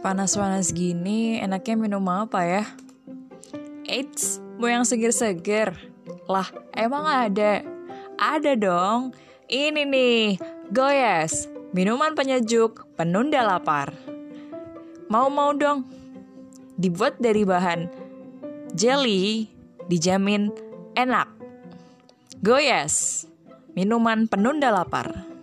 Panas-panas gini, enaknya minum apa ya? Eits, mau yang seger-seger? Lah, emang ada? Ada dong. Ini nih, Goyes, minuman penyejuk penunda lapar. Mau dong. Dibuat dari bahan jelly, dijamin enak. Goyes, minuman penunda lapar.